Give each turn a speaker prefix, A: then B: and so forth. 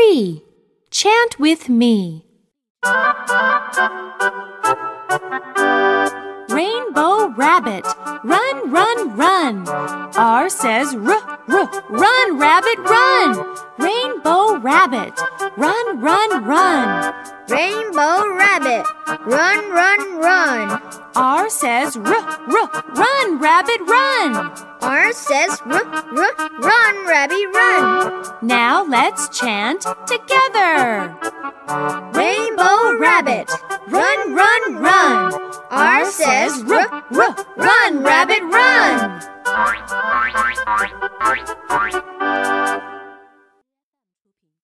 A: 3. Chant with me. Rainbow rabbit, run, run, run. R says run, rabbit, run. Rainbow rabbit, run, run, run.
B: Rainbow rabbit, run, run, run.
A: R says run, rabbit, run.
B: R says run, rabbit, run.
A: Now let's chant together.
B: Rainbow rabbit, run, run, run. R says
A: run, rabbit, run.